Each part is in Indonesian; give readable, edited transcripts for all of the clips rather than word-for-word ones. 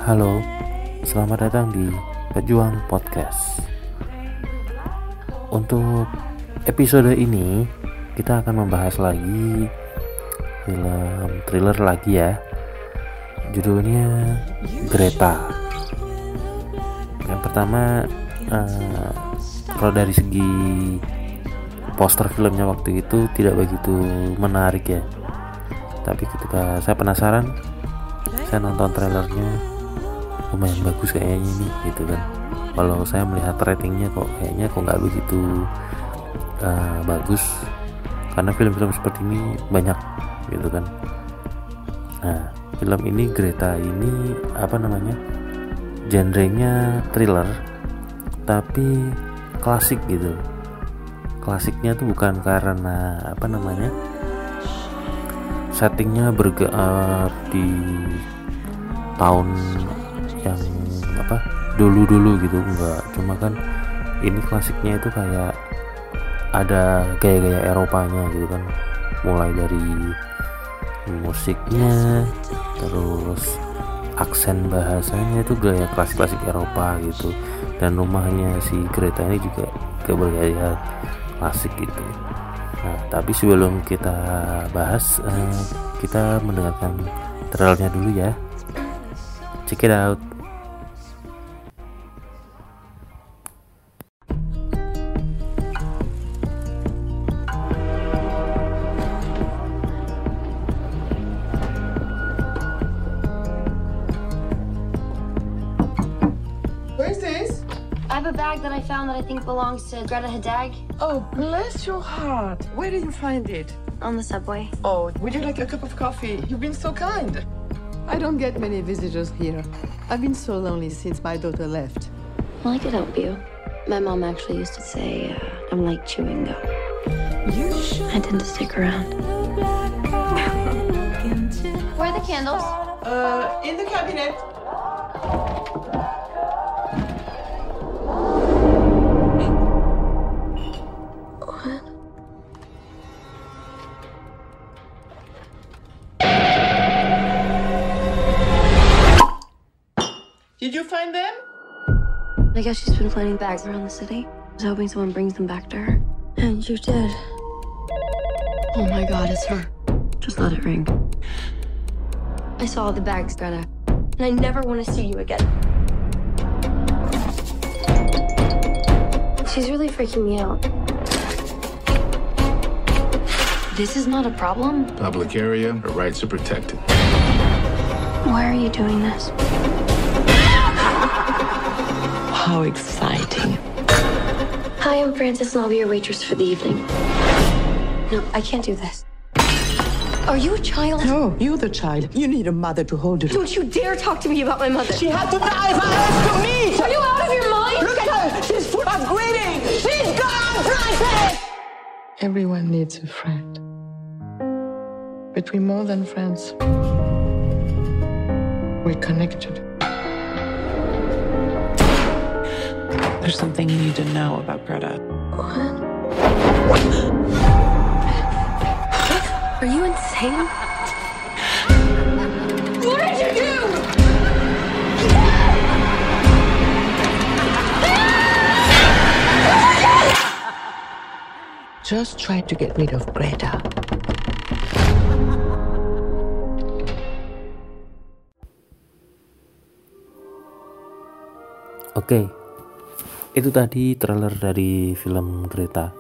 Halo, selamat datang di Pejuang Podcast. Untuk episode ini kita akan membahas lagi film thriller lagi ya. Judulnya Greta. Yang pertama, kalau dari segi poster filmnya waktu itu tidak begitu menarik ya. Tapi ketika saya penasaran, saya nonton trailernya, lumayan bagus kayaknya ini gitu kan. Kalau saya melihat ratingnya kok nggak begitu bagus, karena film-film seperti ini banyak gitu kan. Nah, film ini Greta ini genrenya thriller tapi klasik gitu. Klasiknya tuh bukan karena settingnya di tahun yang dulu gitu, enggak, cuma kan ini klasiknya itu kayak ada gaya-gaya Eropanya gitu kan, mulai dari musiknya, terus aksen bahasanya itu gaya klasik-klasik Eropa gitu, dan rumahnya si Greta ini juga bergaya klasik gitu. Nah, tapi sebelum kita bahas, kita mendengarkan trailernya dulu ya. Check it out. Where's this? I have a bag that I found that I think belongs to Greta Hadag. Oh, bless your heart. Where did you find it? On the subway. Oh, would you like a cup of coffee? You've been so kind. I don't get many visitors here. I've been so lonely since my daughter left. Well, I could help you. My mom actually used to say I'm like chewing gum. I tend to stick around. Where are the candles? In the cabinet. Did you find them? I guess she's been planting bags around the city. I was hoping someone brings them back to her. And you did. Oh my god, it's her. Just let it ring. I saw the bags, Greta. And I never want to see you again. She's really freaking me out. This is not a problem. Public area, her rights are protected. Why are you doing this? How exciting. Hi, I'm Frances, and I'll be your waitress for the evening. No, I can't do this. Are you a child? No, you're the child. You need a mother to hold you. Don't you dare talk to me about my mother. She had to die for us to meet! Are you out of your mind? Look at her! She's full of greeting! She's gone, Frances! Everyone needs a friend. But we're more than friends. We're connected. There's something you need to know about Greta. What? Are you insane? What did you do? Just try to get rid of Greta. Oke. Itu tadi trailer dari film Greta.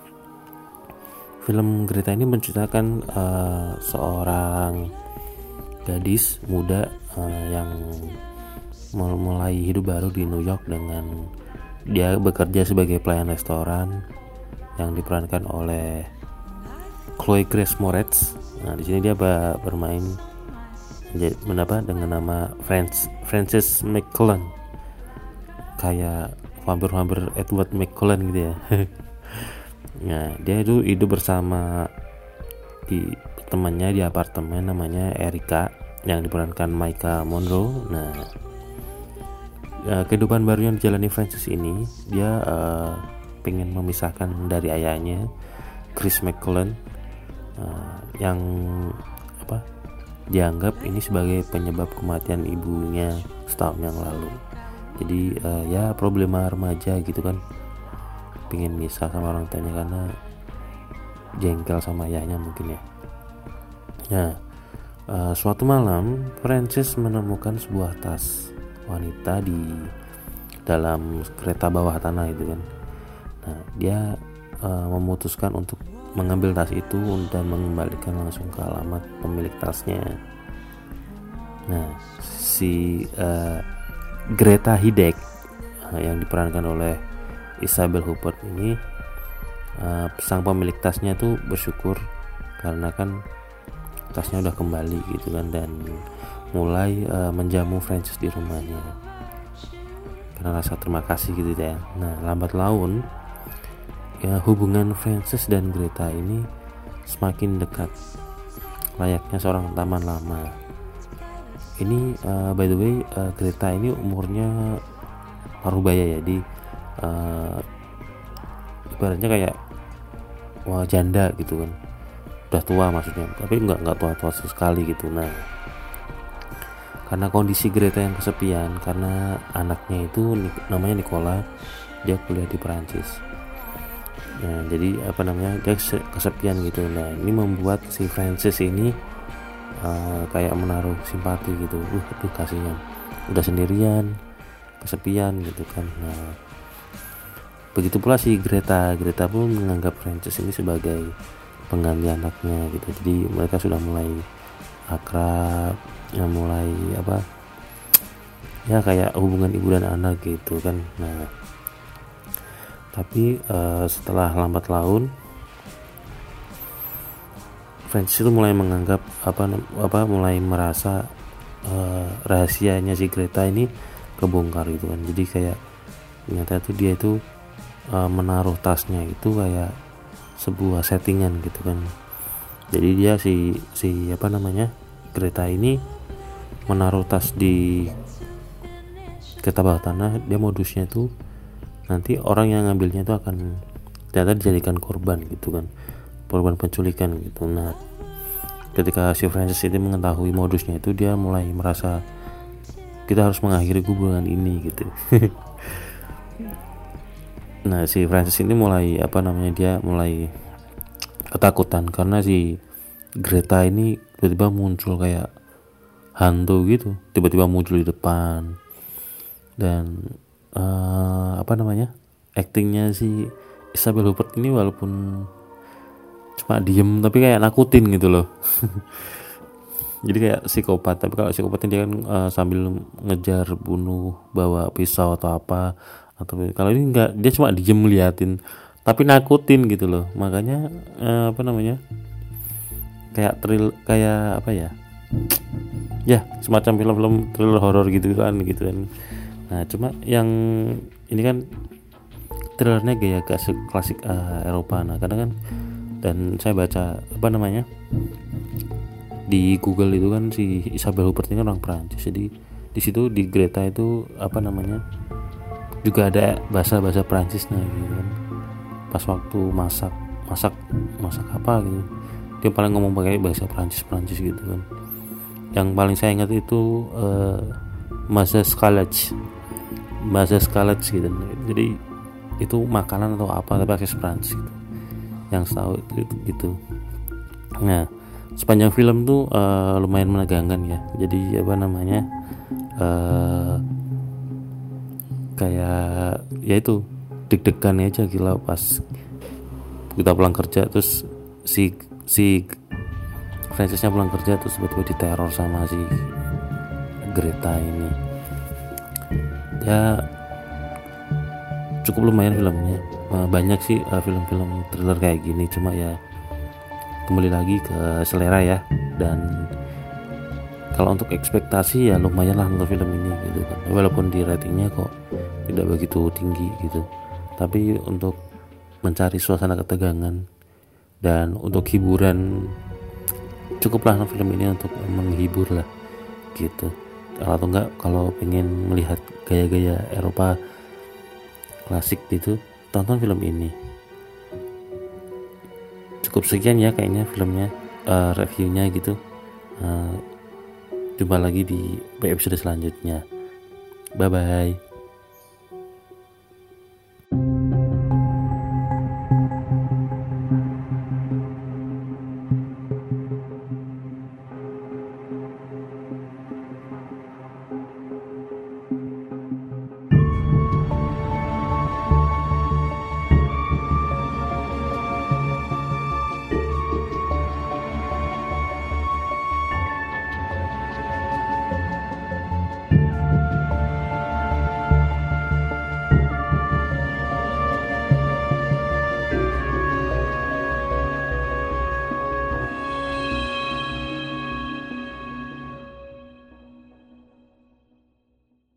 Film Greta ini menceritakan seorang gadis muda yang mulai hidup baru di New York dengan dia bekerja sebagai pelayan restoran yang diperankan oleh Chloe Grace Moretz. Nah, di sini dia bermain dengan nama Frances McClellan. Kayak hampir Edward McCullen gitu ya. Nah, dia itu hidup bersama temannya di apartemen namanya Erika yang diperankan Maika Monroe. Nah, kehidupan baru yang dijalani Frances ini, dia pengen memisahkan dari ayahnya Chris McCullen yang dianggap ini sebagai penyebab kematian ibunya setahun yang lalu. Jadi ya problema remaja gitu kan, pengen misah sama orang tuanya karena jengkel sama ayahnya mungkin ya. Nah, suatu malam Francis menemukan sebuah tas wanita di dalam kereta bawah tanah itu kan. Nah, dia memutuskan untuk mengambil tas itu dan mengembalikan langsung ke alamat pemilik tasnya. Nah, si Greta Hidek yang diperankan oleh Isabelle Huppert ini, sang pemilik tasnya tuh bersyukur karena kan tasnya udah kembali gitu kan, dan mulai menjamu Francis di rumahnya karena rasa terima kasih gitu ya. Nah, lambat laun ya hubungan Francis dan Greta ini semakin dekat, layaknya seorang teman lama. Ini by the way, Greta ini umurnya parubaya ya, di ibaratnya kayak janda gitu kan, udah tua maksudnya, tapi nggak tua sekali gitu. Nah, karena kondisi Greta yang kesepian karena anaknya itu namanya Nicola, dia kuliah di Perancis. Nah, jadi dia kesepian gitu. Nah, ini membuat si Francis ini kayak menaruh simpati gitu. Aduh kasihan, udah sendirian, kesepian gitu kan. Nah, begitu pula si Greta pun menganggap Francis ini sebagai pengganti anaknya gitu. Jadi mereka sudah mulai akrab, ya mulai ya kayak hubungan ibu dan anak gitu kan. Nah, tapi setelah lambat laun Francis itu mulai menganggap mulai merasa rahasianya si Greta ini kebongkar gitu kan. Jadi kayak ternyata itu dia itu menaruh tasnya itu kayak sebuah settingan gitu kan. Jadi dia si Greta ini menaruh tas di kereta bawah tanah, dia modusnya itu nanti orang yang ngambilnya itu akan ternyata dijadikan korban gitu kan, korban penculikan gitu. Nah, ketika si Francis ini mengetahui modusnya itu, dia mulai merasa kita harus mengakhiri hubungan ini gitu. Nah, si Francis ini mulai dia mulai ketakutan karena si Greta ini tiba-tiba muncul kayak hantu gitu, tiba-tiba muncul di depan. Dan aktingnya si Isabelle Huppert ini walaupun cuma diem tapi kayak nakutin gitu loh. Jadi kayak psikopat, tapi kalau psikopatnya dia kan sambil ngejar, bunuh, bawa pisau atau apa. Atau kalau ini enggak, dia cuma diem liatin tapi nakutin gitu loh. Makanya kayak semacam film-film thriller horor gitu kan. Nah, cuma yang ini kan thrillernya gaya klasik Eropa. Nah, kadang kan, dan saya baca di Google itu kan si Isabelle Huppert ini orang Perancis. Jadi di situ di Greta itu juga ada bahasa Perancisnya gitu kan. Pas waktu masak apa gitu, dia paling ngomong pakai bahasa Perancis gitu kan. Yang paling saya ingat itu bahasa Scalage gitu. Jadi itu makanan atau apa tapi pakai Perancis gitu. Yang tahu itu gitu. Nah, sepanjang film tuh lumayan menegangkan ya. Jadi kayak ya itu deg-degan aja gila pas kita pulang kerja, terus si Francisnya pulang kerja terus tiba-tiba diteror sama si Greta ini. Ya cukup lumayan filmnya. Banyak sih film-film thriller kayak gini, cuma ya kembali lagi ke selera ya. Dan kalau untuk ekspektasi ya lumayan lah untuk film ini gitu kan. Walaupun di ratingnya kok tidak begitu tinggi gitu, tapi untuk mencari suasana ketegangan dan untuk hiburan cukuplah film ini untuk menghibur lah gitu. Atau enggak kalau pengen melihat gaya-gaya Eropa klasik gitu, tonton film ini. Cukup sekian ya kayaknya filmnya, reviewnya gitu. Jumpa lagi di episode selanjutnya. Bye bye.